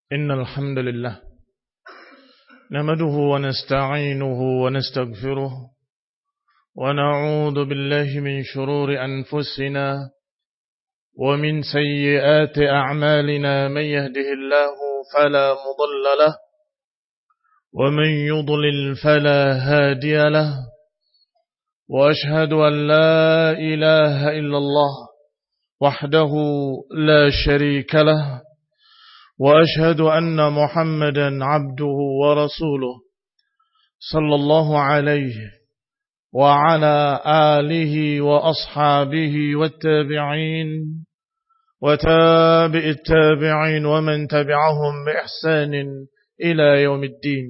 إن الحمد لله نحمده ونستعينه ونستغفره ونعوذ بالله من شرور أنفسنا ومن سيئات أعمالنا من يهده الله فلا مضل له ومن يضلل فلا هادي له وأشهد أن لا إله إلا الله وحده لا شريك له وأشهد أن محمدا عبده ورسوله صلى الله عليه وعلى آله وأصحابه والتابعين وتابع التابعين ومن تبعهم بإحسان إلى يوم الدين.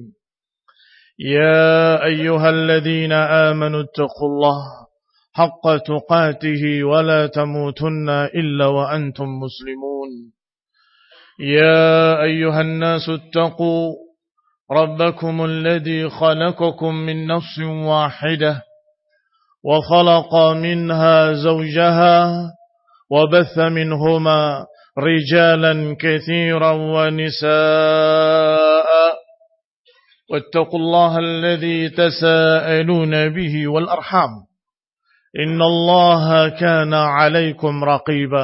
يا أيها الذين آمنوا اتقوا الله حق تقاته ولا تموتن إلا وأنتم مسلمون. يا أيها الناس اتقوا ربكم الذي خلقكم من نفس واحدة وخلق منها زوجها وبث منهما رجالا كثيرا ونساء واتقوا الله الذي تساءلون به والأرحام إن الله كان عليكم رقيبا.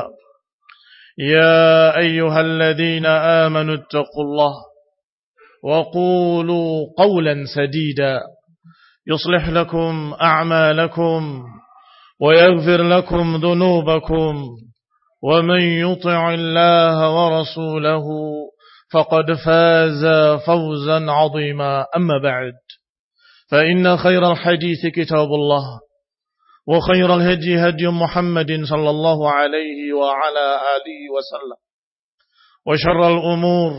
يا أيها الذين آمنوا اتقوا الله وقولوا قولا سديدا يصلح لكم أعمالكم ويغفر لكم ذنوبكم ومن يطع الله ورسوله فقد فاز فوزا عظيما. أما بعد فإن خير الحديث كتاب الله وخير الهدي هدي محمد صلى الله عليه وعلى آله وسلم وشر الأمور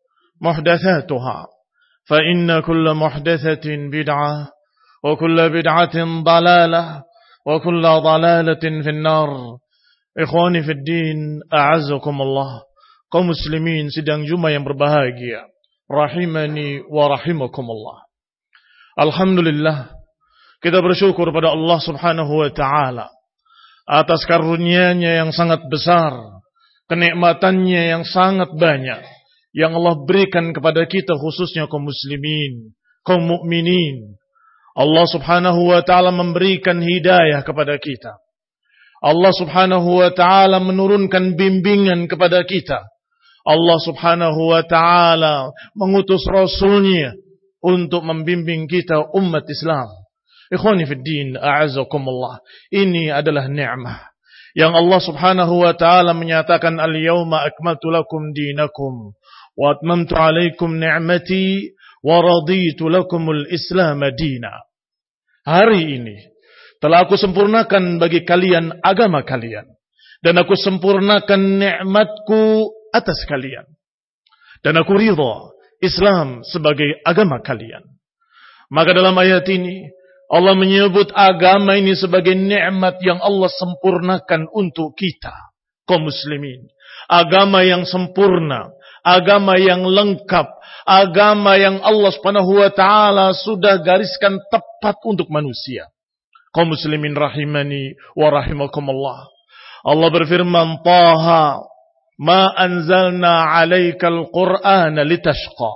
محدثاتها فإن كل محدثة بدعة وكل بدعة ضلالة وكل ضلالة في النار. Ikhwani fi din, a'azzakumullah. Kaum muslimin sidang Jumat yang berbahagia, rahimani wa rahimakumullah. Alhamdulillah, kita bersyukur pada Allah Subhanahu wa taala atas karunia-Nya yang sangat besar, kenikmatan-Nya yang sangat banyak yang Allah berikan kepada kita, khususnya kaum muslimin, kaum mukminin. Allah Subhanahu wa taala memberikan hidayah kepada kita. Allah Subhanahu wa taala menurunkan bimbingan kepada kita. Allah Subhanahu wa taala mengutus Rasul-Nya untuk membimbing kita umat Islam. Ikhwani fid din, a'azzakumullah. Ini adalah nikmah yang Allah Subhanahu wa taala menyatakan, al-yawma akmaltu lakum dinakum wa atmamtu 'alaikum ni'mati wa raditu lakumul Islam dina. Hari ini telah aku sempurnakan bagi kalian agama kalian, dan aku sempurnakan nikmatku atas kalian, dan aku ridha Islam sebagai agama kalian. Maka dalam ayat ini Allah menyebut agama ini sebagai nikmat yang Allah sempurnakan untuk kita, kaum muslimin. Agama yang sempurna, agama yang lengkap, agama yang Allah Subhanahu wa taala sudah gariskan tepat untuk manusia. Kaum muslimin rahimani wa rahimakumullah. Allah berfirman, Taha, ma anzalna 'alaikal Qur'ana litashqa.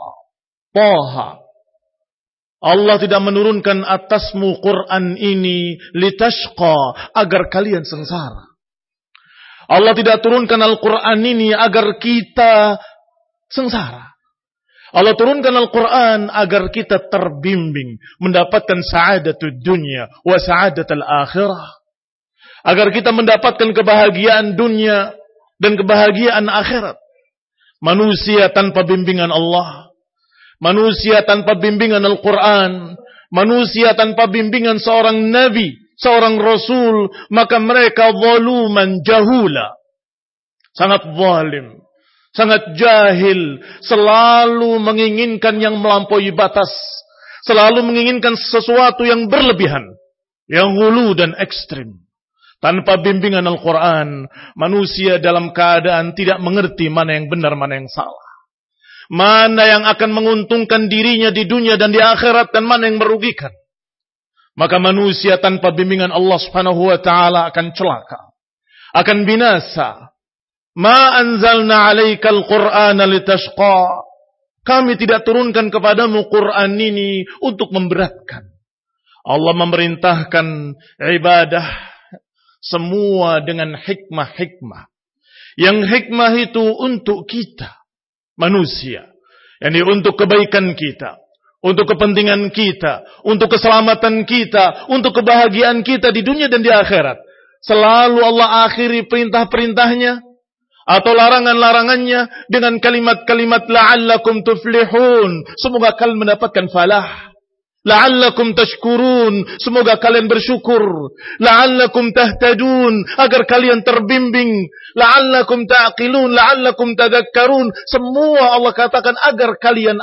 Taha, Allah tidak menurunkan atasmu Quran ini litashqa, agar kalian sengsara. Allah tidak turunkan Al-Quran ini agar kita sengsara. Allah turunkan Al-Quran agar kita terbimbing, mendapatkan sa'adatul dunya wa sa'adatul akhirah. Agar kita mendapatkan kebahagiaan dunia dan kebahagiaan akhirat. Manusia tanpa bimbingan Allah, manusia tanpa bimbingan Al-Quran, manusia tanpa bimbingan seorang nabi, seorang rasul, maka mereka zaluman jahula. Sangat zalim, sangat jahil, selalu menginginkan yang melampaui batas, selalu menginginkan sesuatu yang berlebihan, yang hulu dan ekstrim. Tanpa bimbingan Al-Quran, manusia dalam keadaan tidak mengerti mana yang benar, mana yang salah. Mana yang akan menguntungkan dirinya di dunia dan di akhirat, dan mana yang merugikan. Maka manusia tanpa bimbingan Allah Subhanahu wa taala akan celaka, akan binasa. Ma anzalna 'alaikal Qur'ana litashqa. Kami tidak turunkan kepadamu Quran ini untuk memberatkan. Allah memerintahkan ibadah semua dengan hikmah-hikmah. Yang hikmah itu untuk kita, manusia. Yani untuk kebaikan kita, untuk kepentingan kita, untuk keselamatan kita, untuk kebahagiaan kita di dunia dan di akhirat. Selalu Allah akhiri perintah-perintahnya atau larangan-larangannya dengan kalimat-kalimat la'allakum tuflihun. Semoga kalian mendapatkan falah. La'allakum tashkurun, semoga kalian bersyukur. La'allakum tahtadun, agar kalian terbimbing. La'allakum ta'qilun, la'allakum tadhakkarun. Semua Allah katakan agar kalian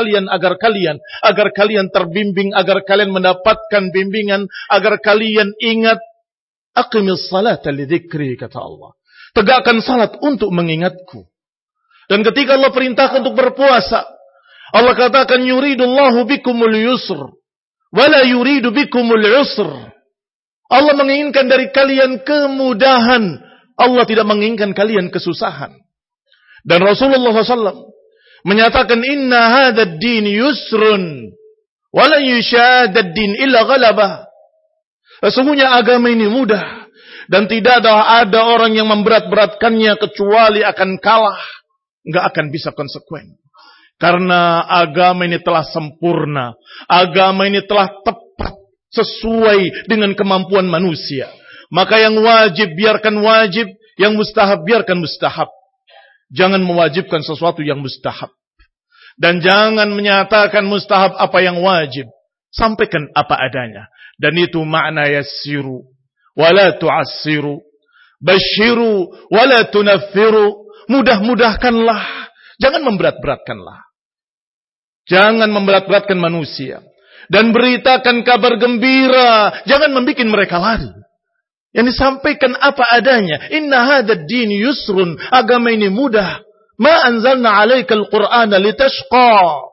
terbimbing, agar kalian mendapatkan bimbingan, agar kalian ingat. Aqimis salata li dzikri, kata Allah. Tegakkan salat untuk mengingatku. Dan ketika Allah perintahkan untuk berpuasa, Allah katakan yuridullahu bikumul yusr wala yuridu bikumul usr. Allah menginginkan dari kalian kemudahan. Allah tidak menginginkan kalian kesusahan. Dan Rasulullah SAW menyatakan inna hadzal din yusrun wala yushadad din illa ghalabah. Sesungguhnya agama ini mudah dan tidak ada orang yang memberat-beratkannya kecuali akan kalah, enggak akan bisa konsekuen. Karena agama ini telah sempurna. Agama ini telah tepat sesuai dengan kemampuan manusia. Maka yang wajib biarkan wajib, yang mustahab biarkan mustahab. Jangan mewajibkan sesuatu yang mustahab. Dan jangan menyatakan mustahab apa yang wajib. Sampaikan apa adanya. Dan itu makna yassiru wala tu'assiru, basyiru wala tunaffiru. Mudah-mudahkanlah, jangan memberat-beratkanlah. Jangan memberat-beratkan manusia. Dan beritakan kabar gembira. Jangan membuat mereka lari. Yang disampaikan apa adanya. Inna hadzal din yusrun. Agama ini mudah. Ma anzalna 'alaikal Qur'ana litashqa.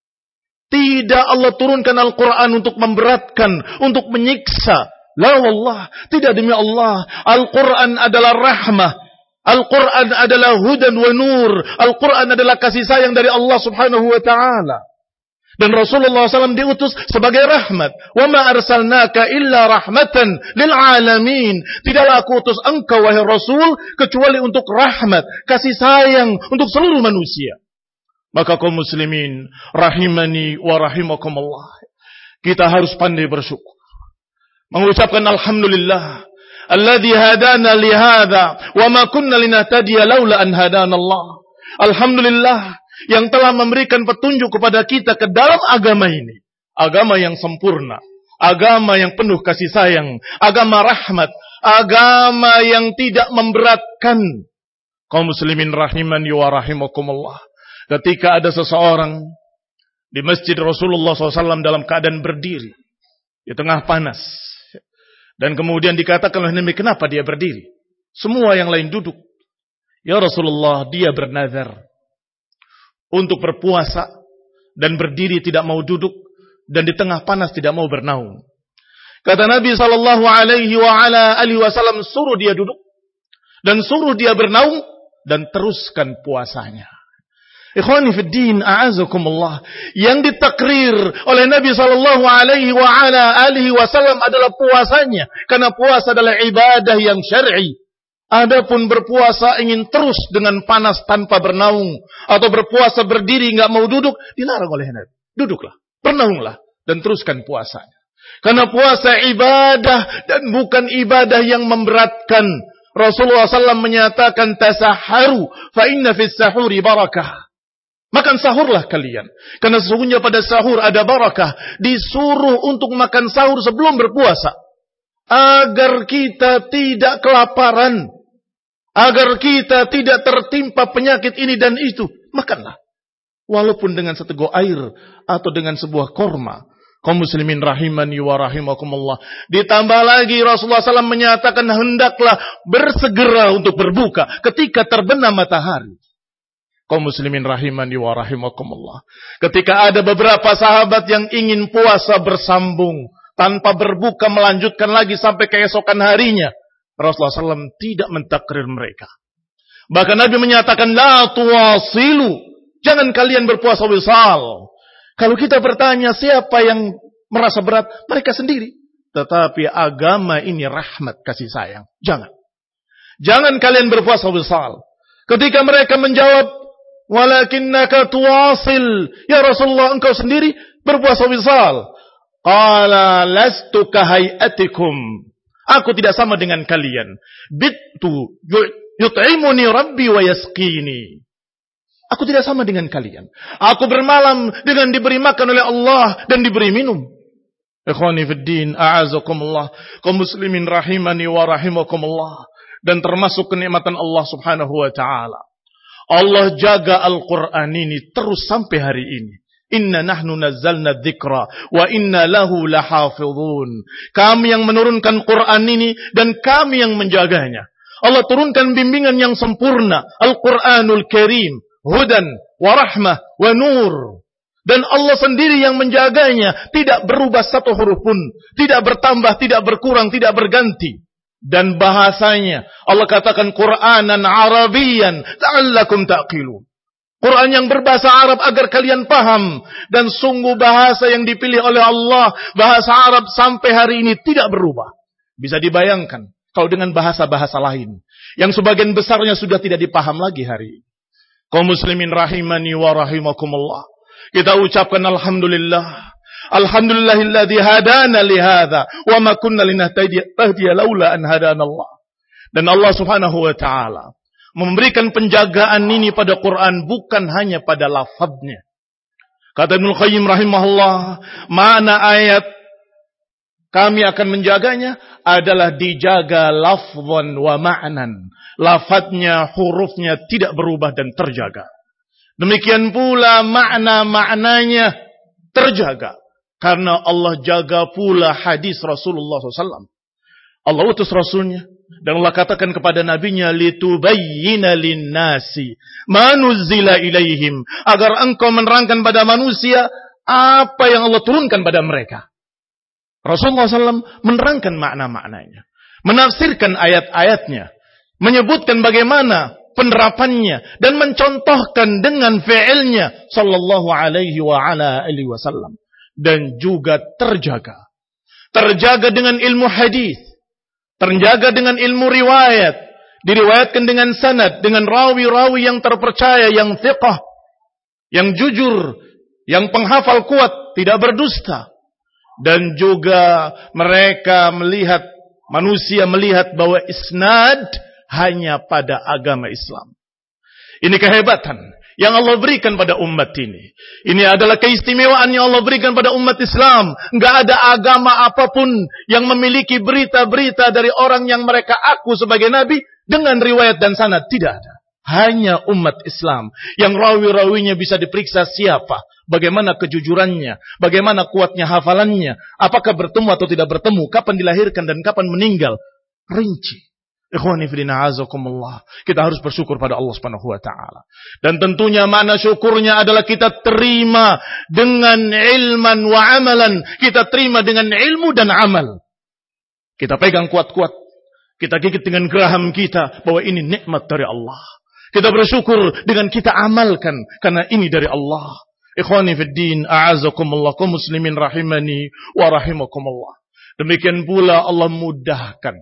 Tidak Allah turunkan Al-Quran untuk memberatkan, untuk menyiksa. La wallah. Tidak, demi Allah. Al-Quran adalah rahmah. Al-Quran adalah hudan wa nur. Al-Quran adalah kasih sayang dari Allah subhanahu wa ta'ala. Dan Rasulullah SAW diutus sebagai rahmat. Wa ma arsalnaka illa rahmatan lil alamin. Tidaklah aku utus engkau wahai Rasul kecuali untuk rahmat, kasih sayang untuk seluruh manusia. Maka kaum muslimin rahimani wa rahimakumullah, kita harus pandai bersyukur, mengucapkan alhamdulillah alladzi hadana li hadza wa ma kunna linahtadiya laula an hadana Allah. Alhamdulillah yang telah memberikan petunjuk kepada kita ke dalam agama ini. Agama yang sempurna, agama yang penuh kasih sayang, agama rahmat, agama yang tidak memberatkan. Kaum muslimin rahimani wa rahimakumullah, ketika ada seseorang di masjid Rasulullah SAW dalam keadaan berdiri di tengah panas, dan kemudian dikatakan oleh Nabi, kenapa dia berdiri? Semua yang lain duduk. Ya Rasulullah, dia bernazar untuk berpuasa dan berdiri tidak mau duduk, dan di tengah panas tidak mau bernaung. Kata Nabi SAW, suruh dia duduk dan suruh dia bernaung dan teruskan puasanya. Ikhwani fid din, a'azakumullah. Yang ditakrir oleh Nabi SAW adalah puasanya. Karena puasa adalah ibadah yang syar'i. Adapun berpuasa ingin terus dengan panas tanpa bernaung, atau berpuasa berdiri enggak mau duduk, dilarang oleh Nabi. Duduklah, bernaunglah, dan teruskan puasanya. Karena puasa ibadah dan bukan ibadah yang memberatkan. Rasulullah SAW menyatakan tasaharu fa inna fis sahuri barakah. Makan sahurlah kalian, karena sesungguhnya pada sahur ada barakah. Disuruh untuk makan sahur sebelum berpuasa, agar kita tidak kelaparan, agar kita tidak tertimpa penyakit ini dan itu. Makanlah, walaupun dengan seteguk air atau dengan sebuah korma. Kaum muslimin rahimani wa rahimakumullah. Ditambah lagi Rasulullah SAW menyatakan hendaklah bersegera untuk berbuka ketika terbenam matahari. Kaum muslimin rahimani wa rahimakumullah, ketika ada beberapa sahabat yang ingin puasa bersambung tanpa berbuka melanjutkan lagi sampai keesokan harinya, Rasulullah SAW tidak mentakrir mereka. Bahkan Nabi menyatakan la tuwasilu Jangan kalian berpuasa wisal. Kalau kita bertanya siapa yang merasa berat, mereka sendiri. Tetapi agama ini rahmat kasih sayang. Jangan kalian berpuasa wisal. Ketika mereka menjawab, walakinnaka tuwasil, ya Rasulullah, engkau sendiri berpuasa wisal. Qala lastu kahayatikum. Aku tidak sama dengan kalian. Bittu yut'imuni rabbi wa yasqini. Aku tidak sama dengan kalian. Aku bermalam dengan diberi makan oleh Allah dan diberi minum. Ikhwani fid din, a'azakumullah. Kaum muslimin rahimani wa rahimakumullah. Dan termasuk kenikmatan Allah subhanahu wa ta'ala. Allah jaga Al-Quran ini terus sampai hari ini. Inna nahnu nazzalna dzikra wa inna lahu lahafizun. Kami yang menurunkan Quran ini dan kami yang menjaganya. Allah turunkan bimbingan yang sempurna, Al-Quranul Karim, hudan wa rahmah wa nur. Dan Allah sendiri yang menjaganya, tidak berubah satu huruf pun, tidak bertambah, tidak berkurang, tidak berganti. Dan bahasanya, Allah katakan Qur'anan Arabiyan la'allakum ta'qilun. Quran yang berbahasa Arab agar kalian paham. Dan sungguh bahasa yang dipilih oleh Allah, bahasa Arab sampai hari ini tidak berubah. Bisa dibayangkan kalau dengan bahasa-bahasa lain yang sebagian besarnya sudah tidak dipaham lagi hari ini. Kaum muslimin rahimani wa rahimakumullah. Kita ucapkan alhamdulillah. Alhamdulillahilladzi hadana li hadza wa ma kunna linahtadiya laula an hadana Allah. Dan Allah Subhanahu wa taala memberikan penjagaan ini pada Quran bukan hanya pada lafadznya. Kata Ibnu Qayyim rahimahullah, mana ayat kami akan menjaganya adalah dijaga lafzan wa ma'nan. Lafadznya, hurufnya tidak berubah dan terjaga. Demikian pula makna-maknanya terjaga. Karena Allah jaga pula hadis Rasulullah SAW. Allah utus Rasulnya. Dan Allah katakan kepada nabinya, litubayyina linnasi ma nuzzila ilaihim, agar engkau menerangkan pada manusia apa yang Allah turunkan pada mereka. Rasulullah SAW menerangkan makna-maknanya, menafsirkan ayat-ayatnya, menyebutkan bagaimana penerapannya dan mencontohkan dengan fi'ilnya sallallahu alaihi wa ala alihi wasallam. Dan juga terjaga dengan ilmu hadis, terjaga dengan ilmu riwayat, diriwayatkan dengan sanad, dengan rawi-rawi yang terpercaya, yang thiqah, yang jujur, yang penghafal kuat, tidak berdusta. Dan juga mereka melihat, manusia melihat bahwa isnad hanya pada agama Islam. Ini kehebatan yang Allah berikan pada umat ini. Ini adalah keistimewaan yang Allah berikan pada umat Islam. Enggak ada agama apapun yang memiliki berita-berita dari orang yang mereka aku sebagai nabi dengan riwayat dan sanad. Tidak ada. Hanya umat Islam yang rawi-rawinya bisa diperiksa siapa, bagaimana kejujurannya, bagaimana kuatnya hafalannya, apakah bertemu atau tidak bertemu, kapan dilahirkan dan kapan meninggal. Rinci. Ikhwani fillah azakumullah. Kita harus bersyukur pada Allah Subhanahu wa taala. Dan tentunya makna syukurnya adalah kita terima dengan ilman wa amalan. Kita terima dengan ilmu dan amal. Kita pegang kuat-kuat. Kita gigit dengan geraham kita bahwa ini nikmat dari Allah. Kita bersyukur dengan kita amalkan karena ini dari Allah. Ikhwani fid din a'azakumullah, kaum muslimin rahimani wa rahimakumullah. Demikian pula Allah mudahkan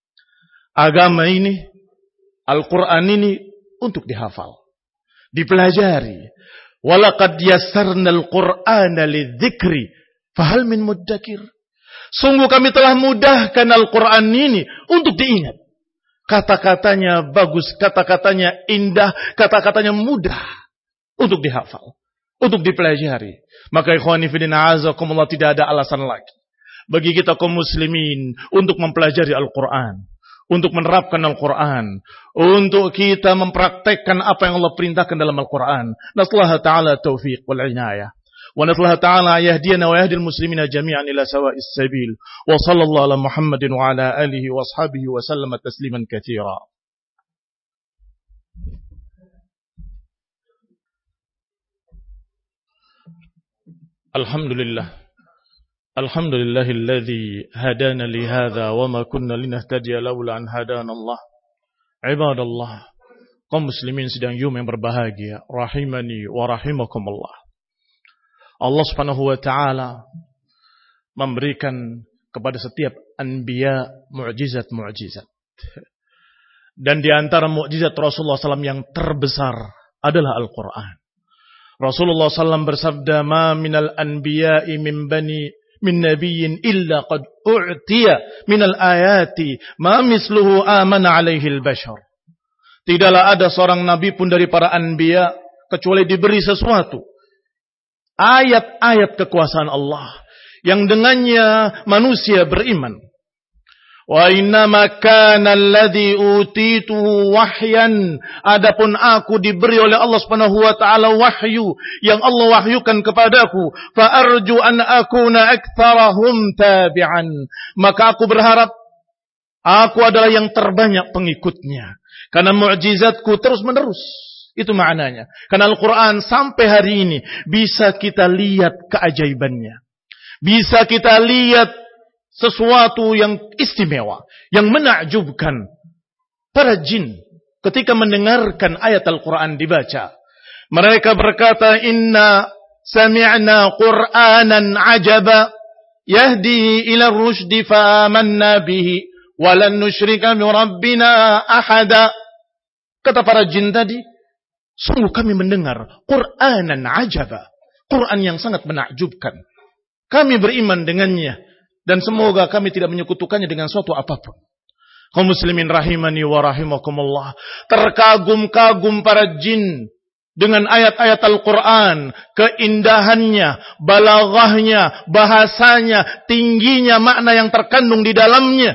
agama ini, Al-Quran ini untuk dihafal, dipelajari. Walaqad yassarna al-Qur'ana lidzikri fahal min muddakir. Sungguh kami telah mudahkan Al-Quran ini untuk diingat. Kata-katanya bagus, kata-katanya indah, kata-katanya mudah untuk dihafal, untuk dipelajari. Maka ikhwani fillah azakumullah, tidak ada alasan lagi bagi kita kaum muslimin untuk mempelajari Al-Quran, untuk menerapkan Al-Quran, untuk kita mempraktekkan apa yang Allah perintahkan dalam Al-Quran. Nasallahu ta'ala taufiq wal inayah. Wa nasallahu ta'ala yahdiyana wa yahdil muslimina jami'an ila sawa'is sabil. Wa sallallahu ala Muhammadin wa ala alihi wa ashabihi wa sallama tasliman katsira. Alhamdulillah. Alhamdulillahilladzi hadana li hadza wa ma kunna linahtadiya laula an hadana Allah. Ibadallah, Kaum muslimin sidang Jumat yang berbahagia, rahimani wa rahimakumullah. Allah Subhanahu wa taala memberikan kepada setiap anbiya mukjizat-mukjizat. Dan di antara mukjizat Rasulullah SAW yang terbesar adalah Al-Quran. Rasulullah SAW bersabda, "Ma minal anbiya'i min nabiyyin illa qad u'tiya minal ayati ma misluhu amana alaihi al-bashar." Tidaklah ada seorang nabi pun dari para anbiya kecuali diberi sesuatu. Ayat-ayat kekuasaan Allah yang dengannya manusia beriman. Wa innama kana alladhi utituhu wahyan. Adapun aku diberi oleh Allah Subhanahu wa taala wahyu yang Allah wahyukan kepadaku. Fa arju an akuna aktsarahum tabi'an. Maka aku berharap aku adalah yang terbanyak pengikutnya. Karena mukjizatku terus menerus. Itu maknanya. Karena Al-Quran sampai hari ini bisa kita lihat keajaibannya. Bisa kita lihat sesuatu yang istimewa, yang menakjubkan. Para jin ketika mendengarkan ayat Al-Quran dibaca, mereka berkata, "Inna sami'na Qur'anan ajaba yahdi ila rusydi fa amanna bihi walan nusyrika bi rabbina ahada." Kata para jin tadi, sungguh kami mendengar Qur'anan ajaba, Quran yang sangat menakjubkan. Kami beriman dengannya dan semoga kami tidak menyekutukannya dengan suatu apapun. Kaum muslimin rahimani wa rahimakumullah, terkagum-kagum para jin dengan ayat-ayat Al-Quran, keindahannya, balaghahnya, bahasanya, tingginya makna yang terkandung di dalamnya.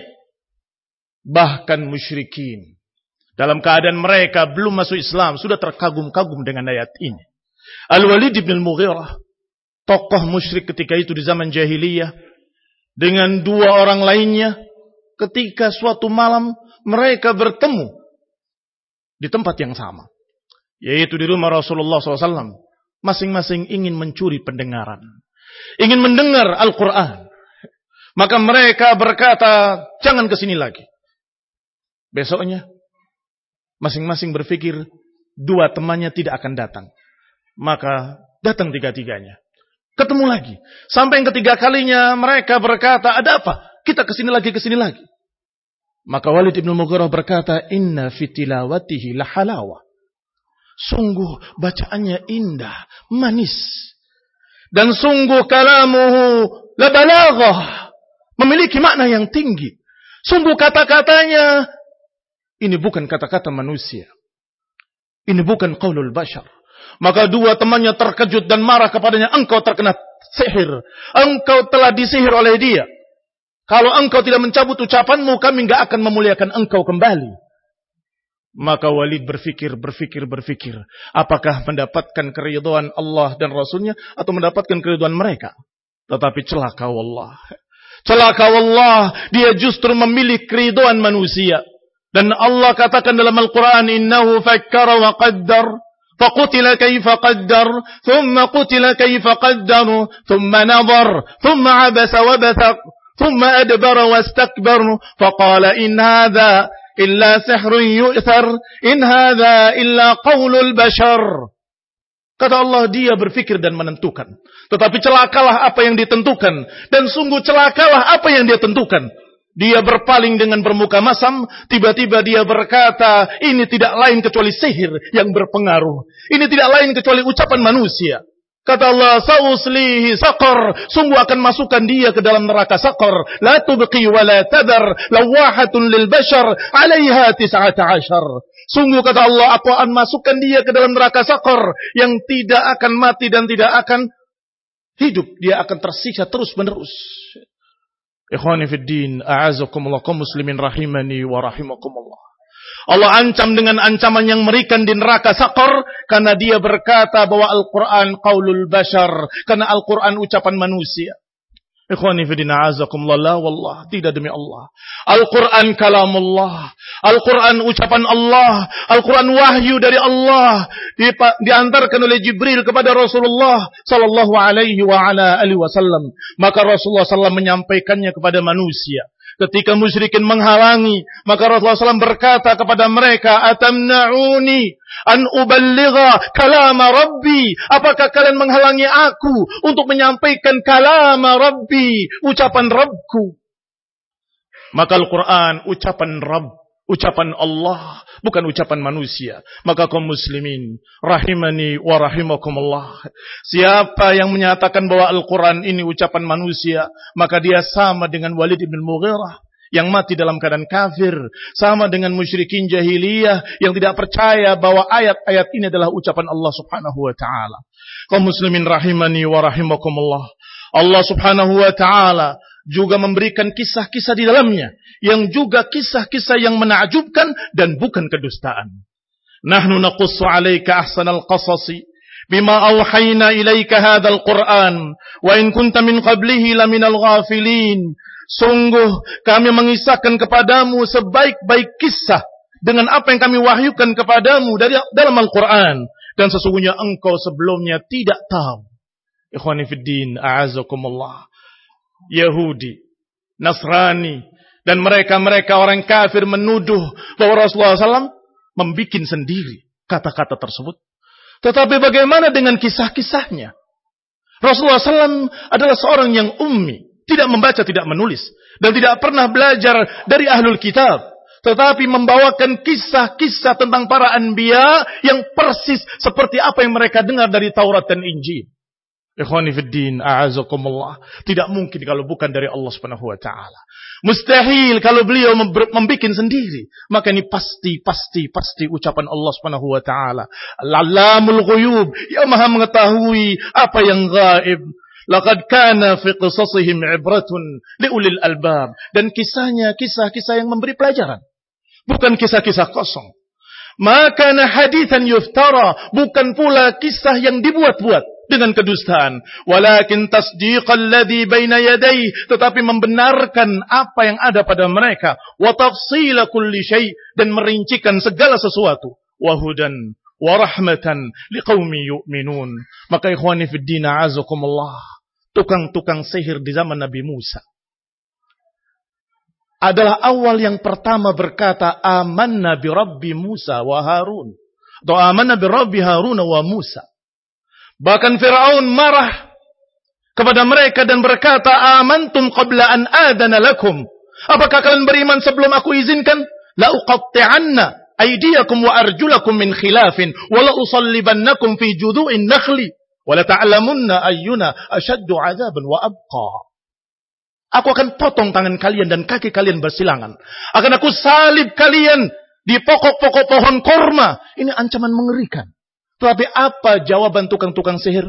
Bahkan musyrikin dalam keadaan mereka belum masuk Islam sudah terkagum-kagum dengan ayat ini. Al-Walid bin Al-Mughirah, tokoh musyrik ketika itu di zaman jahiliyah, dengan dua orang lainnya, ketika suatu malam mereka bertemu di tempat yang sama, yaitu di rumah Rasulullah SAW. Masing-masing ingin mencuri pendengaran, ingin mendengar Al-Quran. Maka mereka berkata, "Jangan kesini lagi." Besoknya masing-masing berpikir dua temannya tidak akan datang. Maka datang tiga-tiganya. Ketemu lagi. Sampai yang ketiga kalinya mereka berkata, "Ada apa? Kita kesini lagi. Maka Walid bin Mughirah berkata, "Inna fitilawatihi lahalawa." Sungguh bacaannya indah, manis. Dan sungguh kalamuhu labalaghah, memiliki makna yang tinggi. Sungguh kata-katanya, ini bukan kata-kata manusia. Ini bukan qaulul bashar. Maka dua temannya terkejut dan marah kepadanya. "Engkau terkena sihir. Engkau telah disihir oleh dia. Kalau engkau tidak mencabut ucapanmu, kami enggak akan memuliakan engkau kembali." Maka Walid berfikir. Apakah mendapatkan keridhaan Allah dan Rasulnya atau mendapatkan keridhaan mereka? Tetapi celaka wallah. Celaka wallah. Dia justru memilih keridhaan manusia. Dan Allah katakan dalam Al-Quran, "Innahu fakkara wa qaddar, faqutila kaifa qaddar, thumma qutila kaifa qaddar, thumma nadhar, thumma abasa wa bathaq, thumma adbara wastakbar, faqala in hadha illa sihrun yu'thar, in hadha illa qaulul bashar." Kata Allah, dia berfikir dan menentukan. Tetapi celakalah apa yang ditentukan. Dan sungguh celakalah apa yang dia tentukan. Dia berpaling dengan bermuka masam. Tiba-tiba dia berkata, ini tidak lain kecuali sihir yang berpengaruh. Ini tidak lain kecuali ucapan manusia. Kata Allah, "Sa'uslihi saqar." Sungguh akan masukkan dia ke dalam neraka saqar. La tubqi wa la tadar, lawahatun lil bashar, 'alaiha 19. Sungguh kata Allah, aku akan masukkan dia ke dalam neraka saqar yang tidak akan mati dan tidak akan hidup. Dia akan tersiksa terus menerus. Ikhwani fid din, a'azakumullah, kaum muslimin rahimani wa rahimakumullah. Allah ancam dengan ancaman yang mengerikan di neraka saqar karena dia berkata bahwa Al-Quran qaulul bashar, karena Al-Quran ucapan manusia. Ikhwani fi din, a'azakumullah, la wallah, tidak demi Allah. Al-Quran kalamullah, Al-Quran ucapan Allah, Al-Quran wahyu dari Allah, diantarkan oleh Jibril kepada Rasulullah sallallahu alaihi wa ala alihi wasallam. Maka Rasulullah sallallahu menyampaikannya kepada manusia. Ketika musyrikin menghalangi, maka Rasulullah SAW berkata kepada mereka, atamna'uni an uballigha kalama rabbi. Apakah kalian menghalangi aku untuk menyampaikan kalama rabbi, ucapan Rabbku? Maka Al-Quran ucapan Rabb, ucapan Allah, bukan ucapan manusia. Maka kaum muslimin, rahimani wa rahimakumullah, siapa yang menyatakan bahwa Al-Quran ini ucapan manusia, maka dia sama dengan Walid bin Mughirah yang mati dalam keadaan kafir, sama dengan musyrikin jahiliyah yang tidak percaya bahwa ayat-ayat ini adalah ucapan Allah Subhanahu wa taala. Kaum muslimin rahimani wa rahimakumullah, Allah Subhanahu wa taala juga memberikan kisah-kisah di dalamnya yang juga kisah-kisah yang menakjubkan dan bukan kedustaan. Nahnu naqussu 'alaika ahsanal qasasi bima awhayna ilaika hadzal Qur'an wa in kunta min qablihi laminal ghafilin. Sungguh kami mengisahkan kepadamu sebaik-baik kisah dengan apa yang kami wahyukan kepadamu dari dalam Al-Qur'an, dan sesungguhnya engkau sebelumnya tidak tahu. Ikhwani fid din, a'azakumullah. Yahudi, Nasrani, dan mereka orang kafir menuduh bahwa Rasulullah SAW membikin sendiri kata-kata tersebut. Tetapi bagaimana dengan kisah-kisahnya? Rasulullah SAW adalah seorang yang ummi, tidak membaca, tidak menulis, dan tidak pernah belajar dari ahlul kitab, tetapi membawakan kisah-kisah tentang para anbiya yang persis seperti apa yang mereka dengar dari Taurat dan Injil. Ikhwani fiddin, a'azakumullah. Tidak mungkin kalau bukan dari Allah Subhanahu wa taala. Mustahil kalau beliau membikin sendiri. Maka ini pasti ucapan Allah Subhanahu wa taala. Al-'allamul ghuyub, yang Maha mengetahui apa yang gaib. Laqad kana fi qisasihim 'ibratun liulil albab. Dan kisahnya kisah-kisah yang memberi pelajaran. Bukan kisah-kisah kosong. Maka haditsan yuftara, bukan pula kisah yang dibuat-buat dengan kedustaan. Walakin tasdiqal ladzi baina yadayhi, tetapi membenarkan apa yang ada pada mereka. Wa tafsila kulli syai', dan merincikan segala sesuatu. Wa hudan wa rahmatan liqaumi yu'minun. Maka ikhwani fid din, a'azakumullah, tukang-tukang sihir di zaman Nabi Musa adalah awal yang pertama berkata amanna bi rabbi Musa wa Harun, atau amanna bi rabbi Harun wa Musa. Bahkan Fir'aun marah kepada mereka dan berkata, amantum qabla an adana lakum. Apakah kalian beriman sebelum aku izinkan? La uqatti'anna aydiyakum wa arjulakum min khilafin wa la usallibannakum fi judu'in nakhli wa la ta'lamunna ayyuna ashaddu 'adzaban wa abqa. Aku akan potong tangan kalian dan kaki kalian bersilangan. Akan aku salib kalian di pokok-pokok pohon korma. Ini ancaman mengerikan. Tapi apa jawaban tukang-tukang sihir?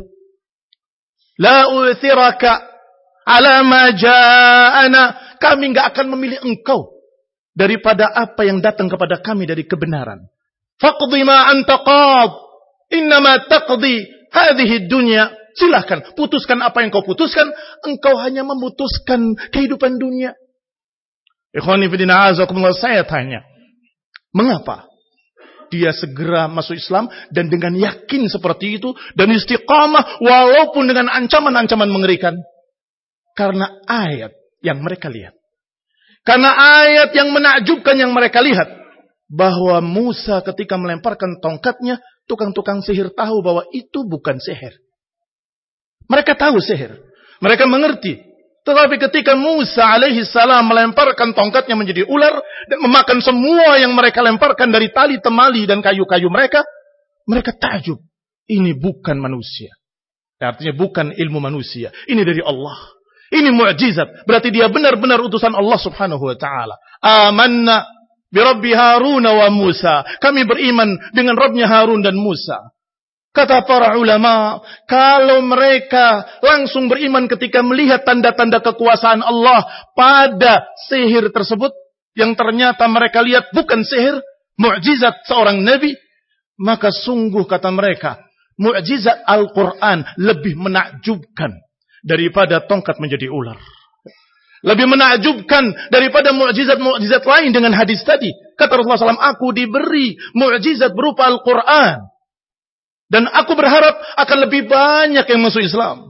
La uthiraka ala ma ja'ana. Kami enggak akan memilih engkau daripada apa yang datang kepada kami dari kebenaran. Faqdi ma anta qad. Innama taqdi hadhihi dunya. Silahkan, putuskan apa yang kau putuskan. Engkau hanya memutuskan kehidupan dunia. Ikhwani fillah, azakumullah, saya tanya, mengapa dia segera masuk Islam dan dengan yakin seperti itu dan istiqamah walaupun dengan ancaman-ancaman mengerikan? Karena ayat yang mereka lihat. Karena ayat yang menakjubkan yang mereka lihat. Bahwa Musa ketika melemparkan tongkatnya, tukang-tukang sihir tahu bahwa itu bukan sihir. Mereka tahu sihir. Mereka mengerti. Tetapi ketika Musa alaihi salam melemparkan tongkatnya menjadi ular dan memakan semua yang mereka lemparkan dari tali temali dan kayu-kayu mereka, mereka takjub. Ini bukan manusia. Artinya bukan ilmu manusia. Ini dari Allah. Ini mukjizat. Berarti dia benar-benar utusan Allah Subhanahu wa taala. Amanna bi rabbi Harun wa Musa. Kami beriman dengan Rabbnya Harun dan Musa. Kata para ulama, kalau mereka langsung beriman ketika melihat tanda-tanda kekuasaan Allah pada sihir tersebut, yang ternyata mereka lihat bukan sihir, mukjizat seorang nabi, maka sungguh kata mereka, mukjizat Al-Quran lebih menakjubkan daripada tongkat menjadi ular. Lebih menakjubkan daripada mukjizat-mukjizat lain dengan hadis tadi. Kata Rasulullah SAW, aku diberi mukjizat berupa Al-Quran. Dan aku berharap akan lebih banyak yang masuk Islam.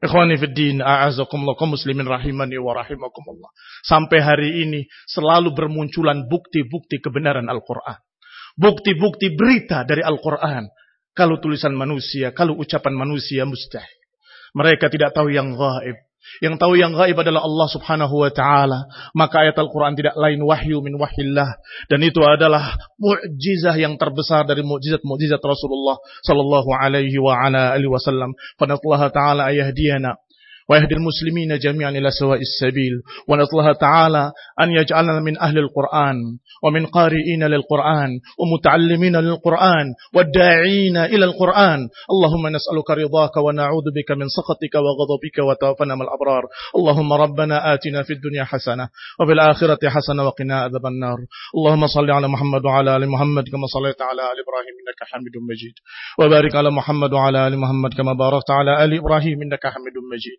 Ikhwani fid din, a'azakumullah, kaum muslimin rahimani wa rahimakumullah. Sampai hari ini selalu bermunculan bukti-bukti kebenaran Al-Quran. Bukti-bukti berita dari Al-Quran. Kalau tulisan manusia, kalau ucapan manusia, mustahil. Mereka tidak tahu yang gaib. Yang tahu yang gaib adalah Allah subhanahu wa ta'ala. Maka ayat Al-Quran tidak lain wahyu min wahyillah. Dan itu adalah mu'jizah yang terbesar dari mu'jizat-mu'jizat Rasulullah sallallahu alaihi wa ala alihi wasallam. Fanallaha ta'ala ayahdiyana wa yahdil muslimina jami'an ila sawa'is sabil. Wa naslaha ta'ala an yaj'alna min ahli al-Qur'an wa min qari'ina lil-Qur'an wa muta'allimina lil-Qur'an wa da'ina ila al-Qur'an. Allahumma nas'aluka ridhaka wa na'udzu bika min sakhatika wa ghadabika wa tawaffana mal abrar. Allahumma rabbana atina fid dunya hasanah wa fil akhirati hasanah wa qina adzaban nar. Allahumma shalli ala Muhammad wa ala ali Muhammad kama shallaita ala ali Ibrahim innaka Hamidum Majid. Wa barik ala Muhammad wa ala ali Muhammad kama barakta ala ali Ibrahim innaka Hamidum Majid.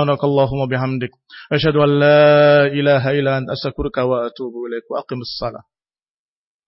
Subhanakallahumma bihamdik asyhadu an la ilaha illa anta astaghfiruka wa atubu ilaik wa aqimus salah.